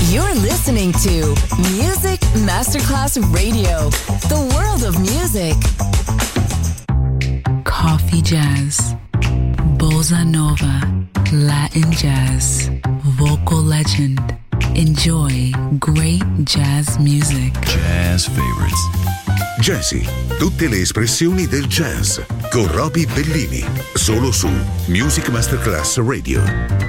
You're listening to Music Masterclass Radio, the world of music. Coffee jazz, bossa nova, Latin jazz, vocal legend. Enjoy great jazz music. Jazz favorites. Jazzy, tutte le espressioni del jazz con Roby Bellini, solo su Music Masterclass Radio.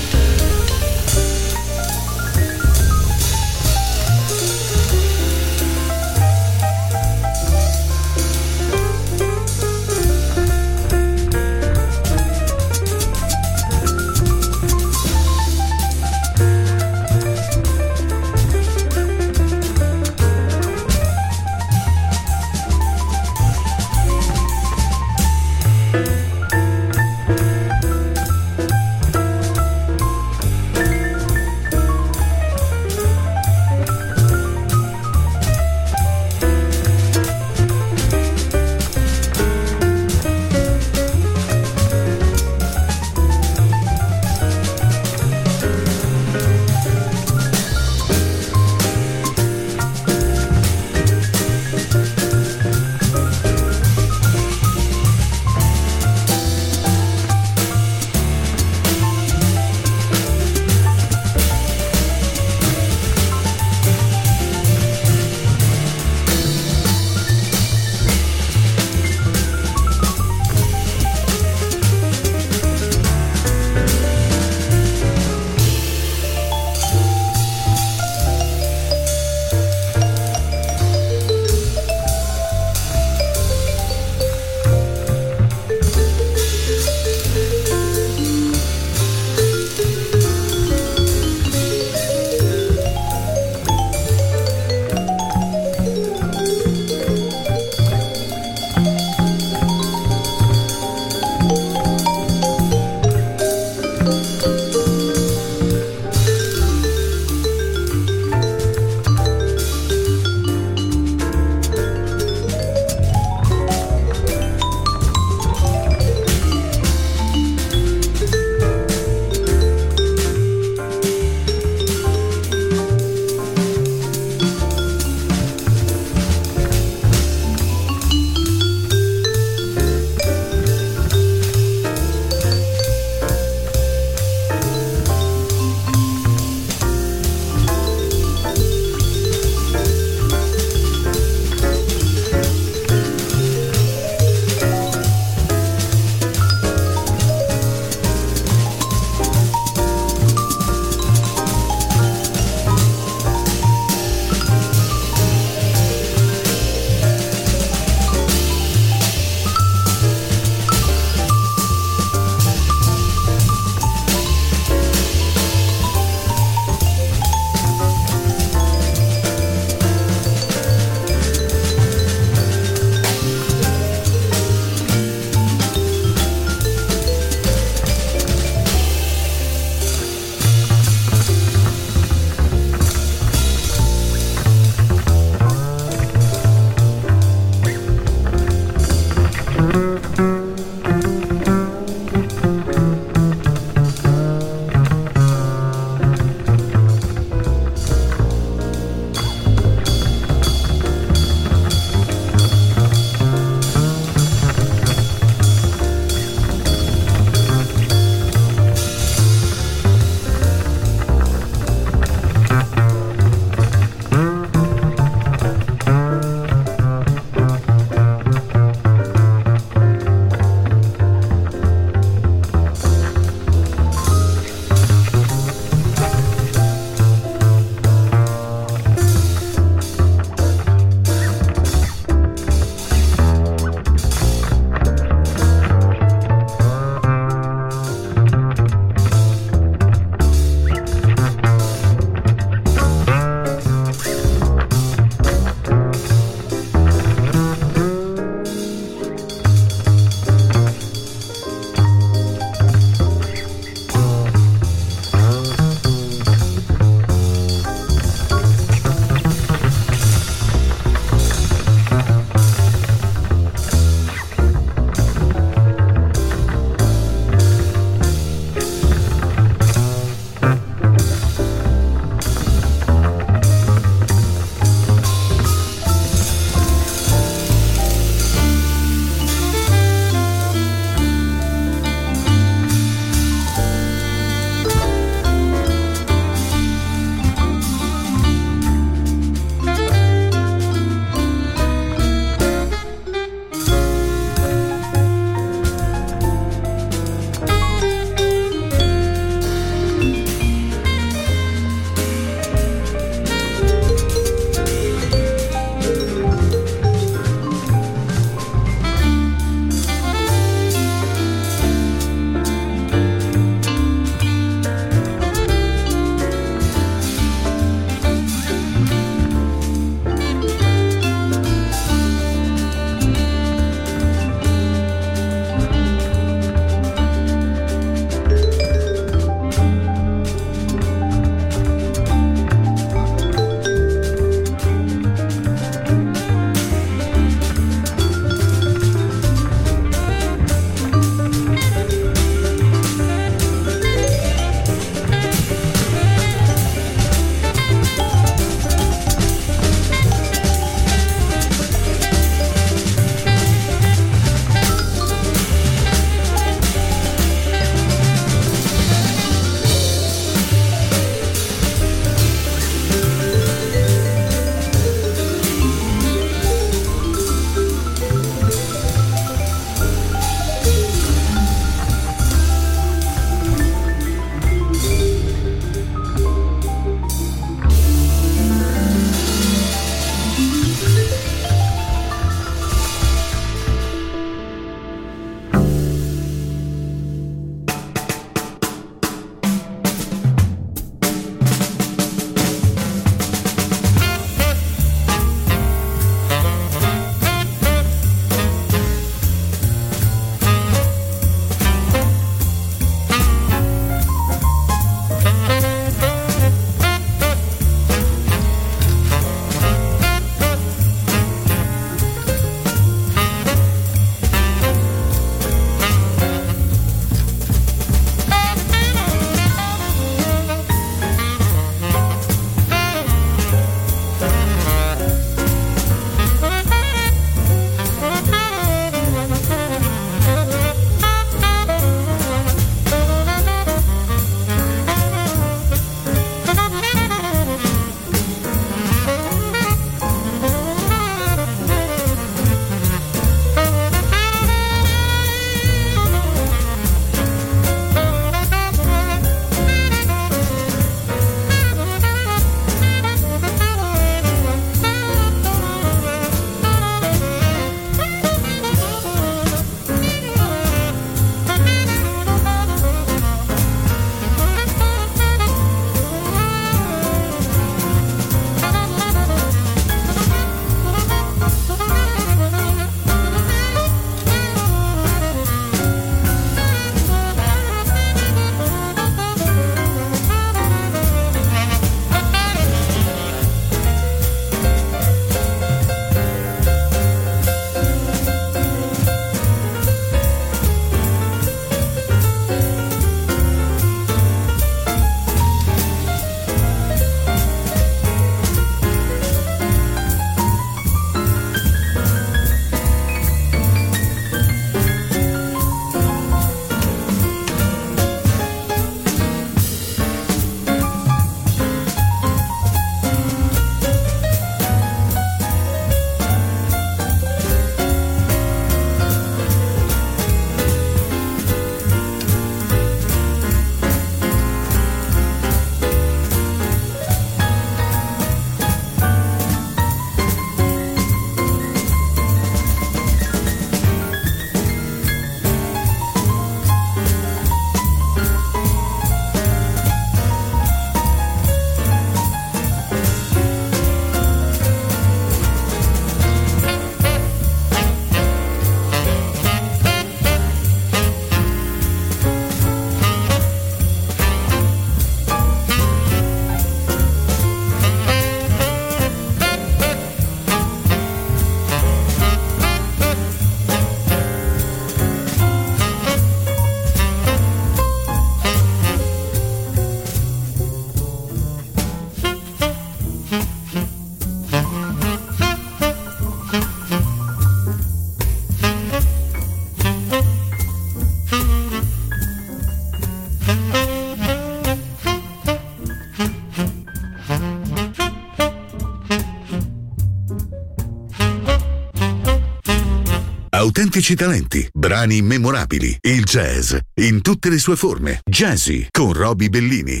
autentici talenti, brani memorabili, il jazz in tutte le sue forme. Jazzy con Roby Bellini.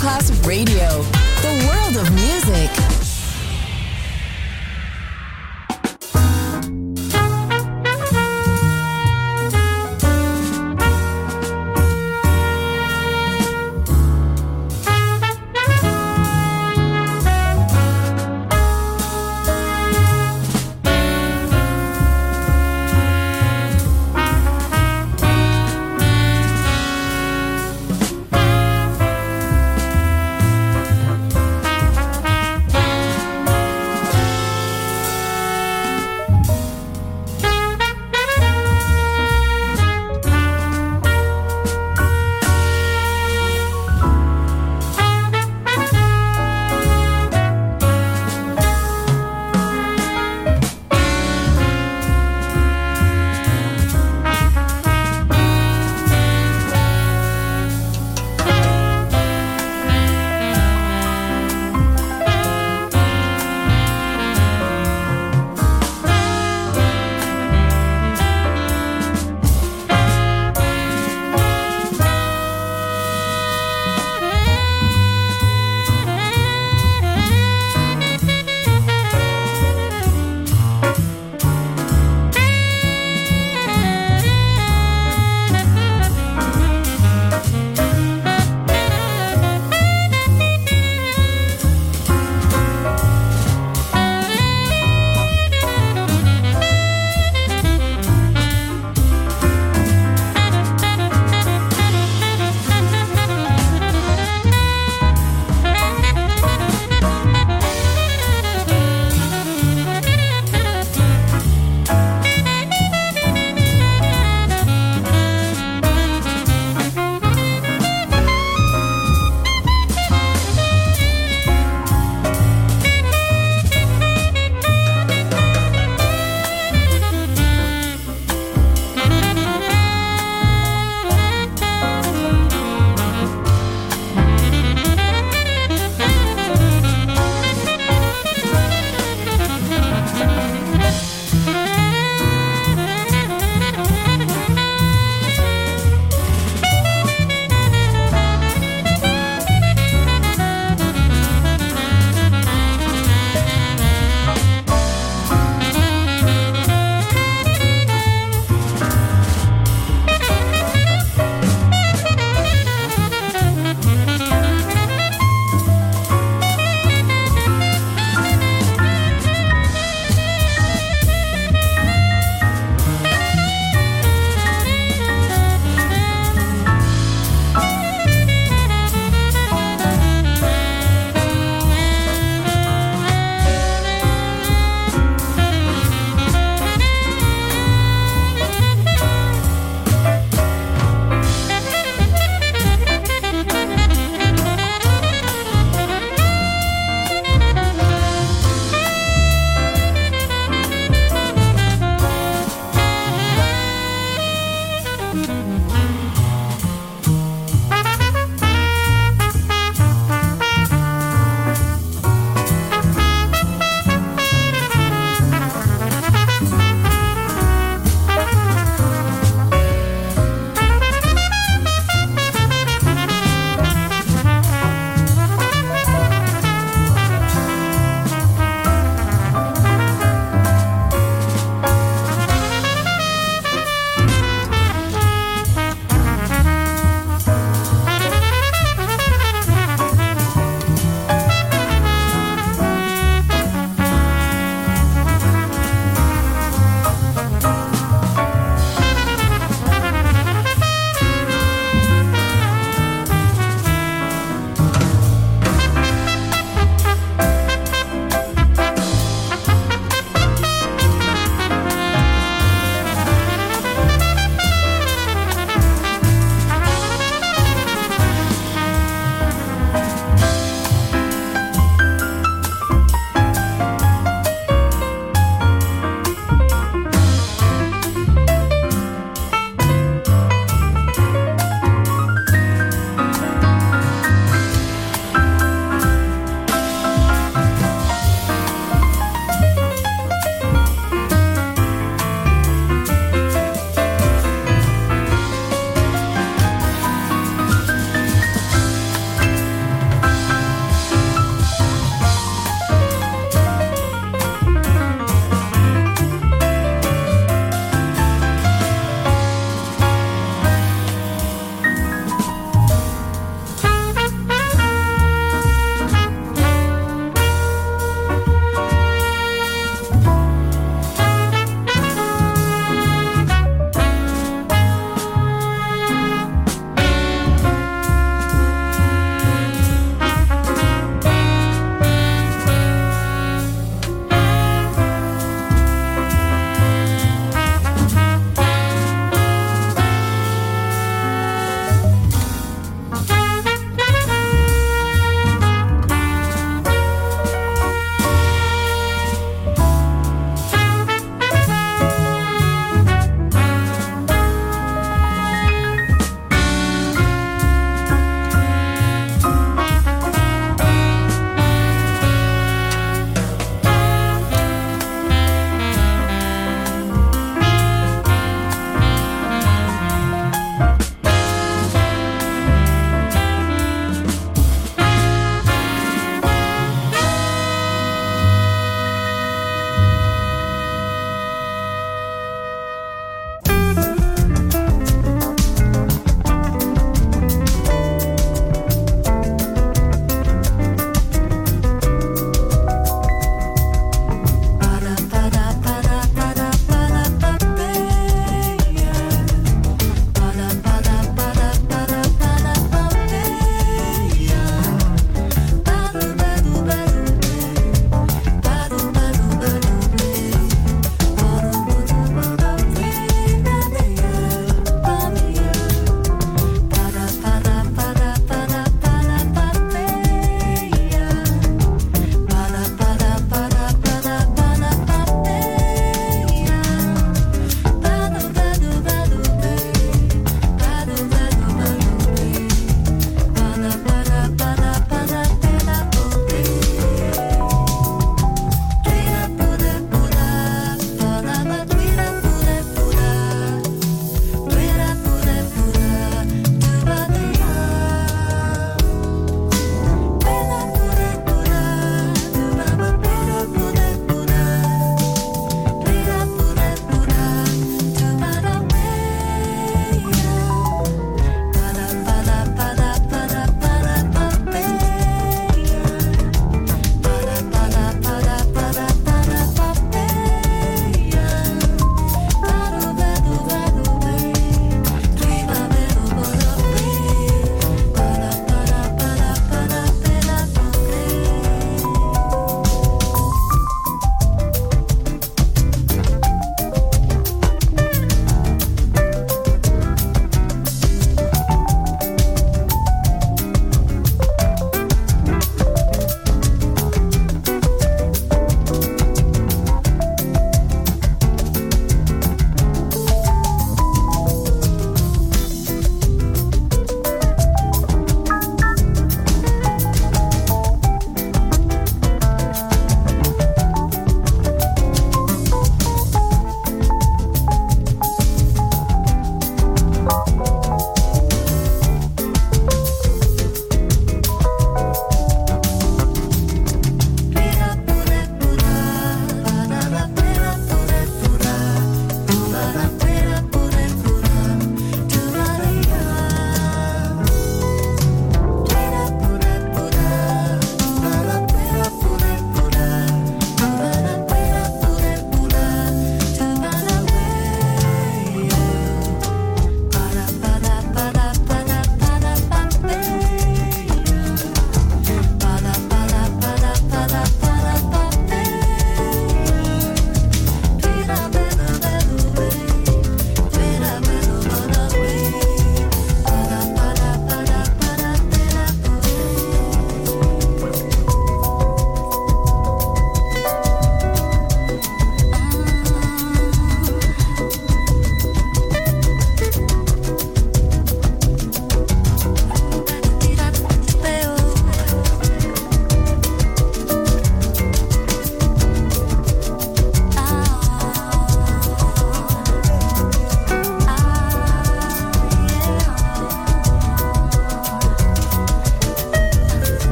Masterclass Radio, the world of music.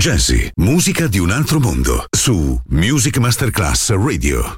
Jazzy, musica di un altro mondo, su Music Masterclass Radio.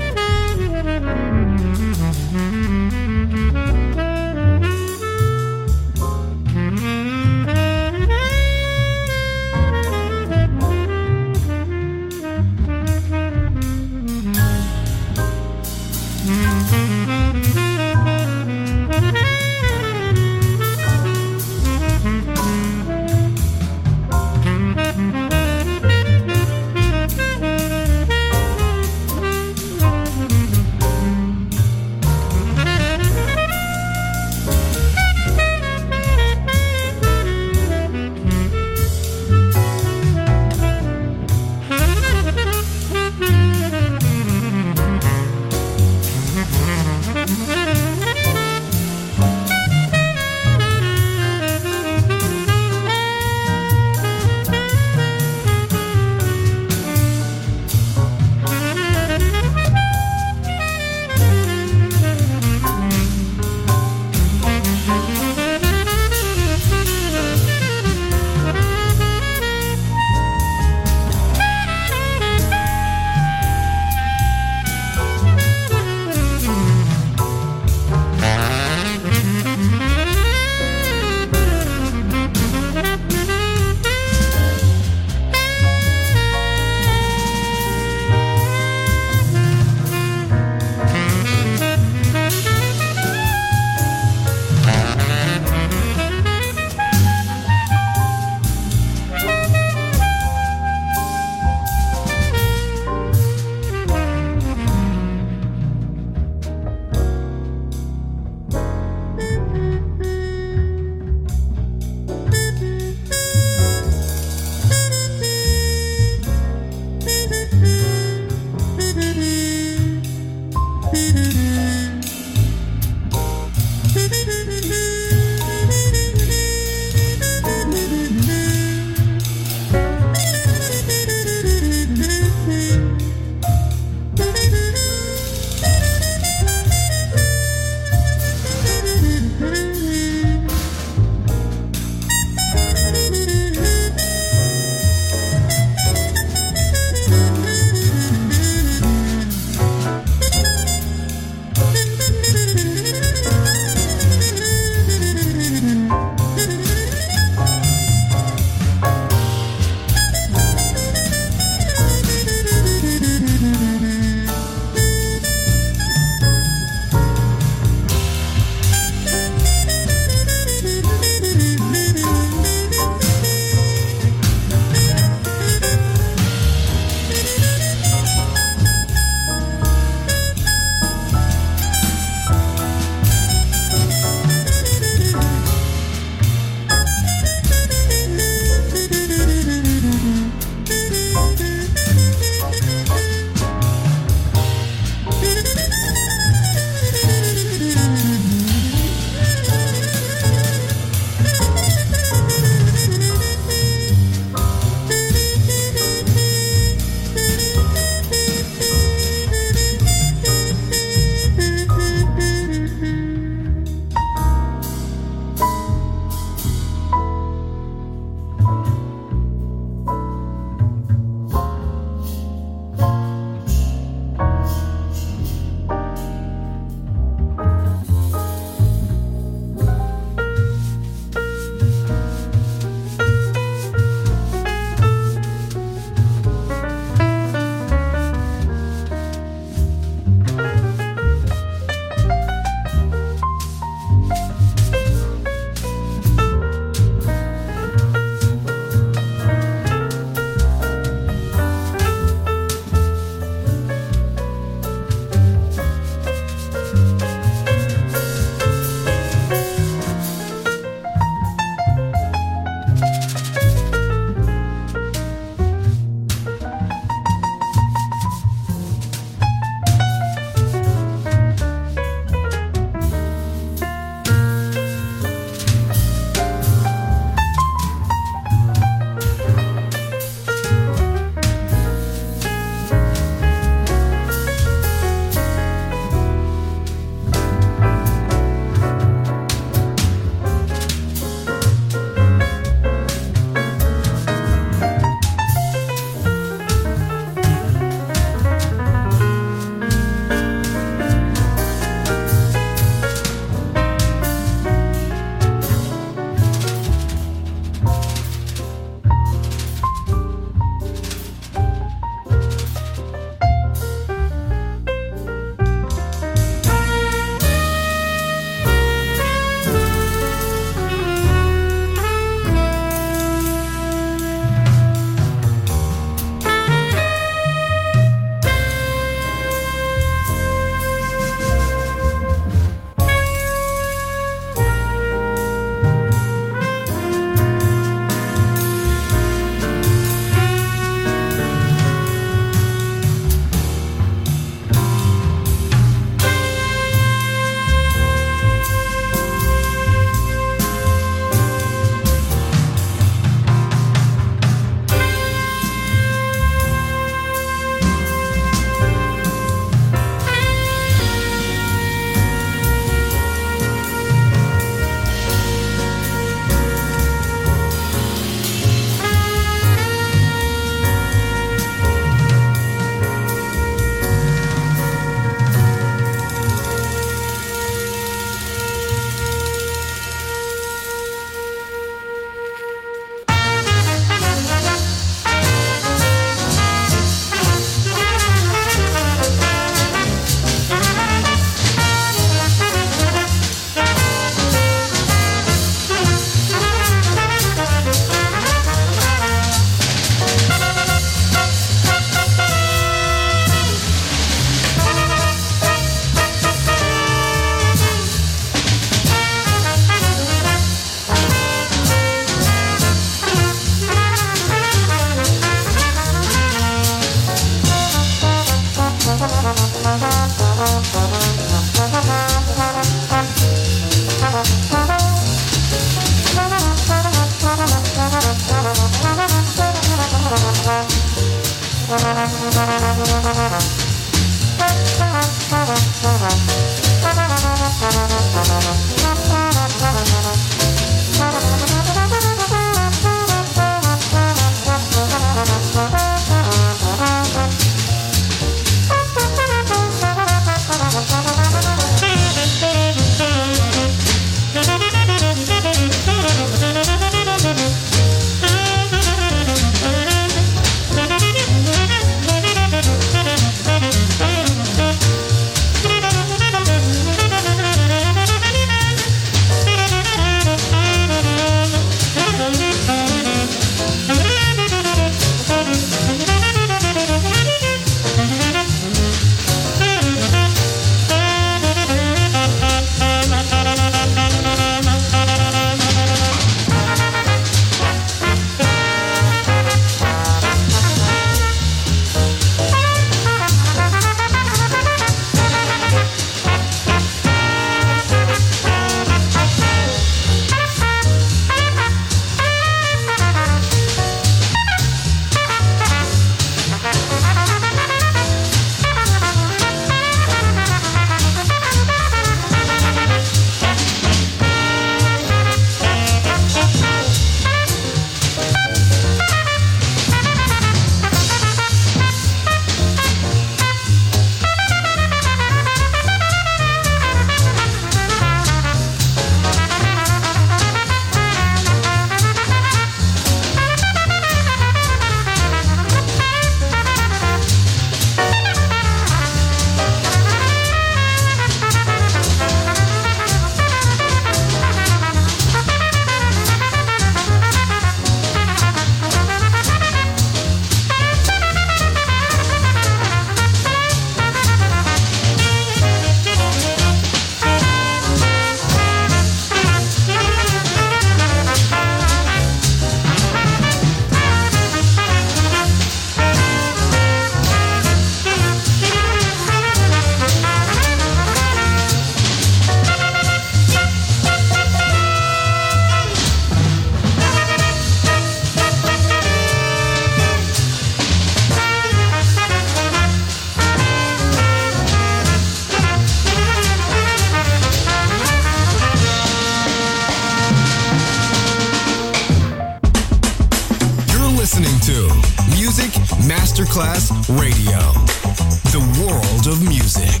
Masterclass Radio, the world of music.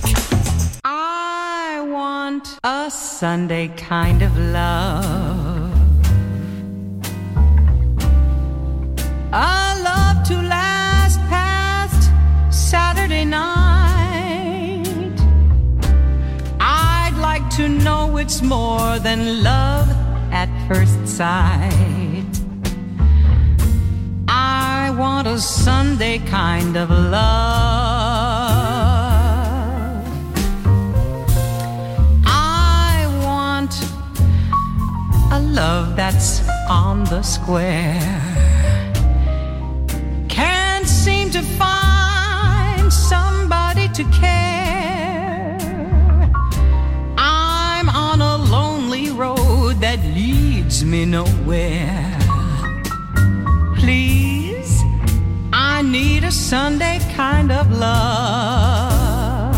I want a Sunday kind of love, a love to last past Saturday night. I'd like to know it's more than love at first sight. I want a Sunday kind of love, I want a love that's on the square. Can't seem to find somebody to care. I'm on a lonely road that leads me nowhere. Please, I need a Sunday kind of love.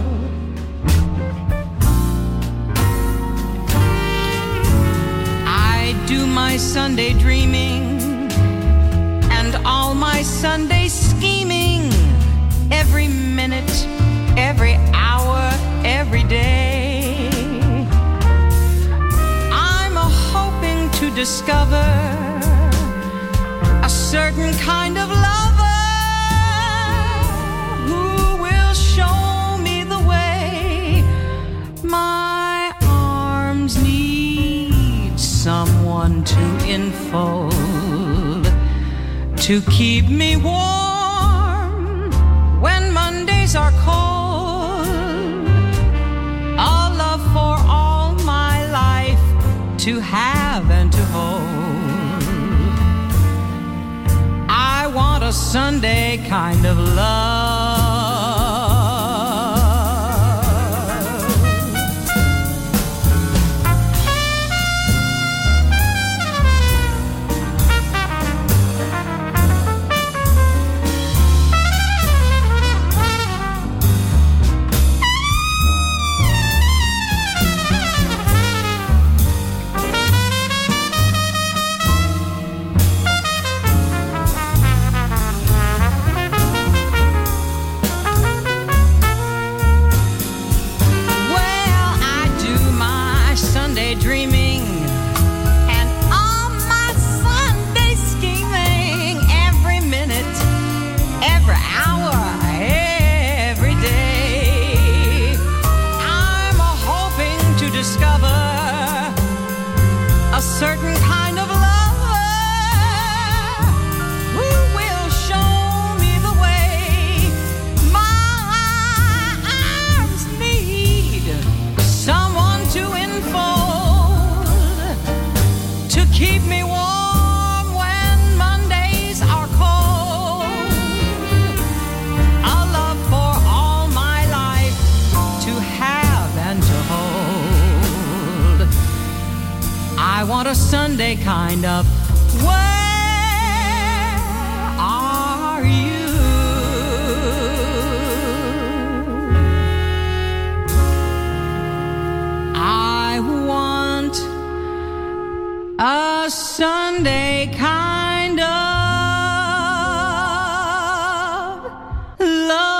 I do my Sunday dreaming and all my Sunday scheming, every minute, every hour, every day. I'm hoping to discover a certain kind of lover who will show me the way. My arms need someone to enfold, to keep me warm when Mondays are cold. A love for all my life to have and to hold. I want a Sunday kind of love. keep me warm when Mondays are cold. A love for all my life to have and to hold. I want a Sunday kind of way. A Sunday kind of love.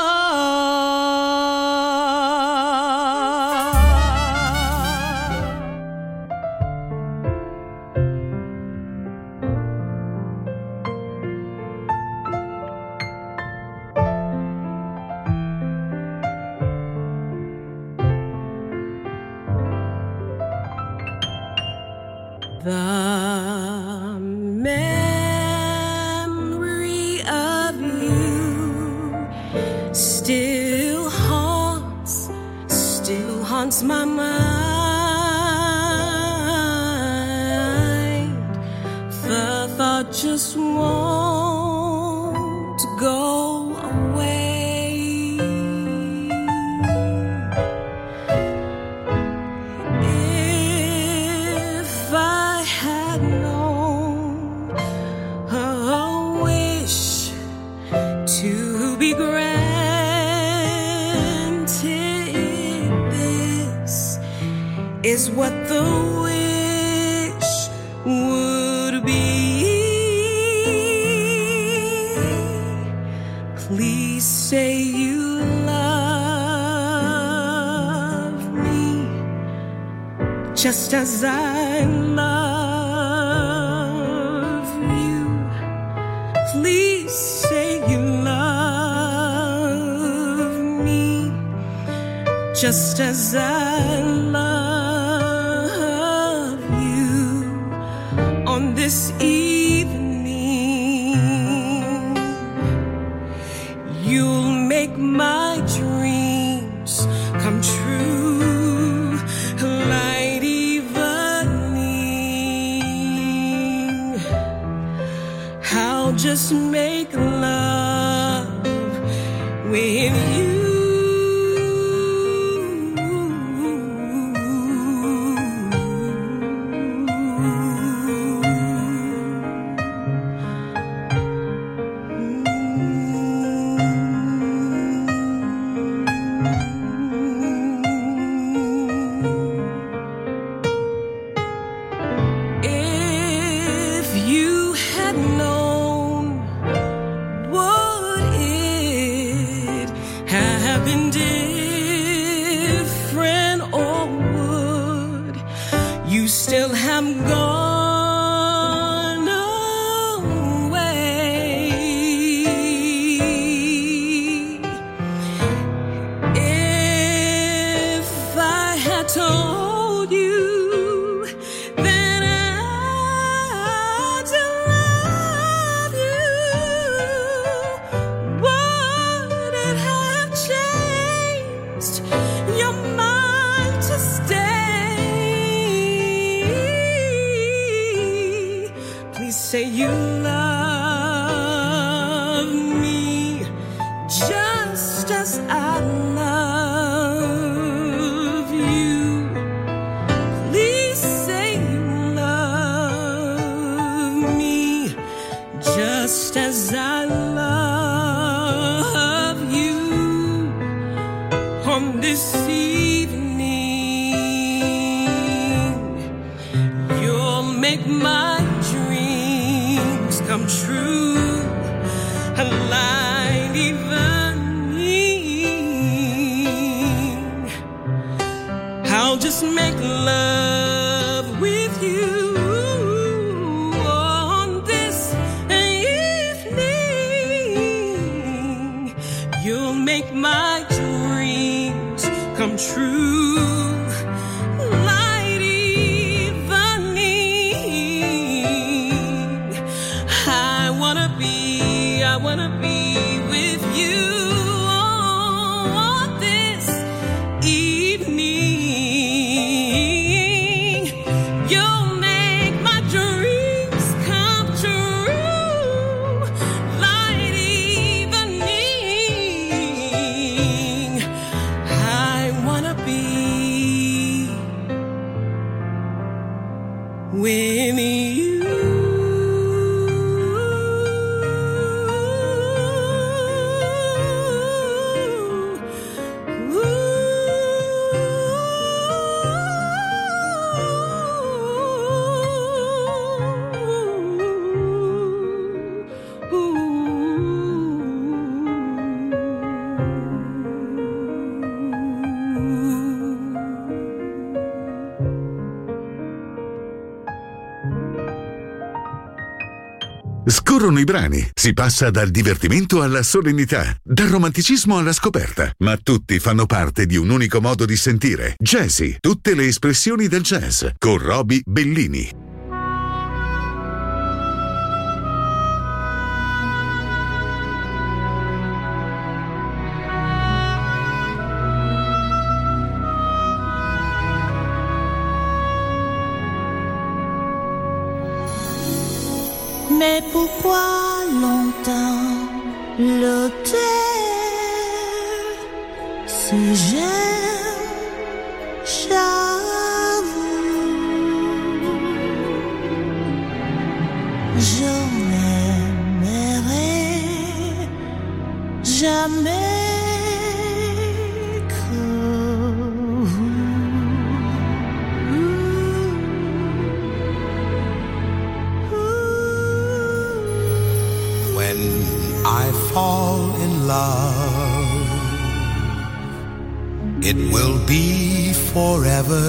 The memory of you still haunts my mind. The thought just won't go away. If I had known a wish to be granted, this is what the wish would be. Please say you love me just as I love you. Please say you love me just as I love you on this evening. You'll make my dreams come true like evening. I'll just make love with you. If you had known, would it have been different, or would you still have gone away? If I had told you that I still love you, would it have changed your mind to stay? Please say you love me just as I love you. Please say you love me just as I love you on this evening. You'll make my dreams come true like evening. I'll just make love with you on this evening. You'll make my dreams come true like evening. I wanna be with you on this evening. Scorrono i brani, si passa dal divertimento alla solennità, dal romanticismo alla scoperta, ma tutti fanno parte di un unico modo di sentire. Jazzy, tutte le espressioni del jazz, con Roby Bellini. Mais pourquoi longtemps le taire si j'aime j'avoue je n'aimerai jamais que vous. When I fall in love, it will be forever,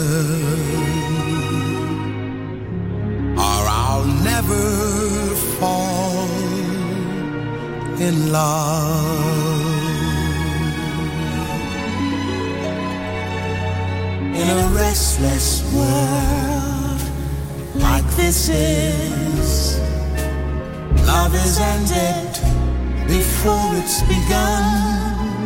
or I'll never fall in love. In a restless world like this is, love is ended before it's begun,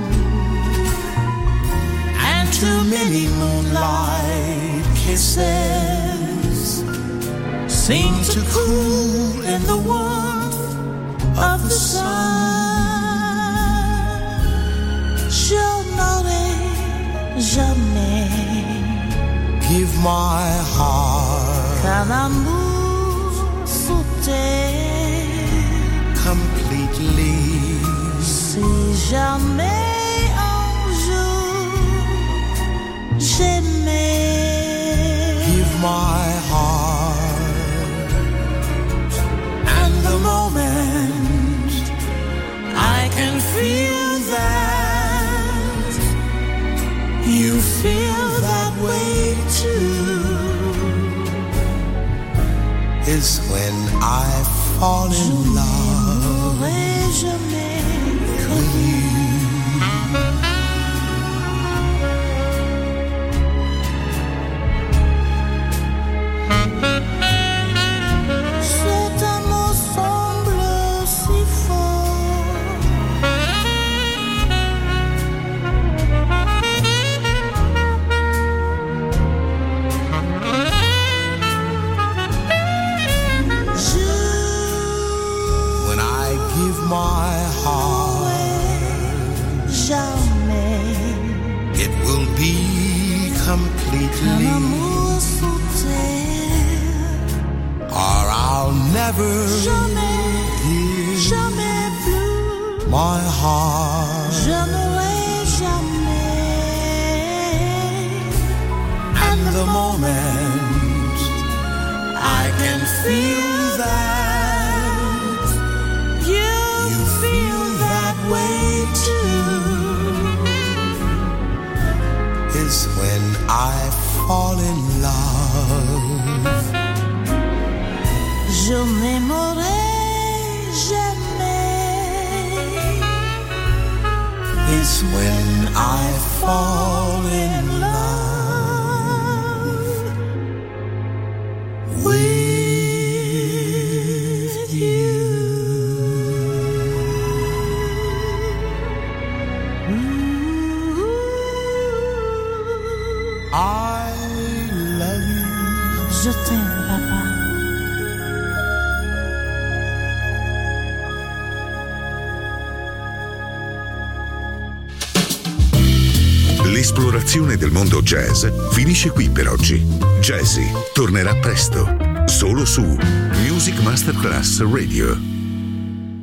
and too many moonlight kisses seem to cool in the warmth of the sun. Je n'aurai jamais give my heart qu'un amour sous terre completely. Si jamais un jour j'aimais, give my heart, and the moment I can feel that you feel that way too, is when I fall in love with you. Cet amour semble si fort, When I give my heart, jamais it will be un completely, amour sous terre, or I'll never jamais, give jamais plus. my heart. Je n'aurai jamais, And the moment I can feel that you you feel that way too, is when I fall in love. je n'aimerai jamais, Is when I fall in love with you. I love you. je t'aime papa. L'esplorazione del mondo jazz finisce qui per oggi. Jazzy tornerà presto, solo su Music Masterclass Radio.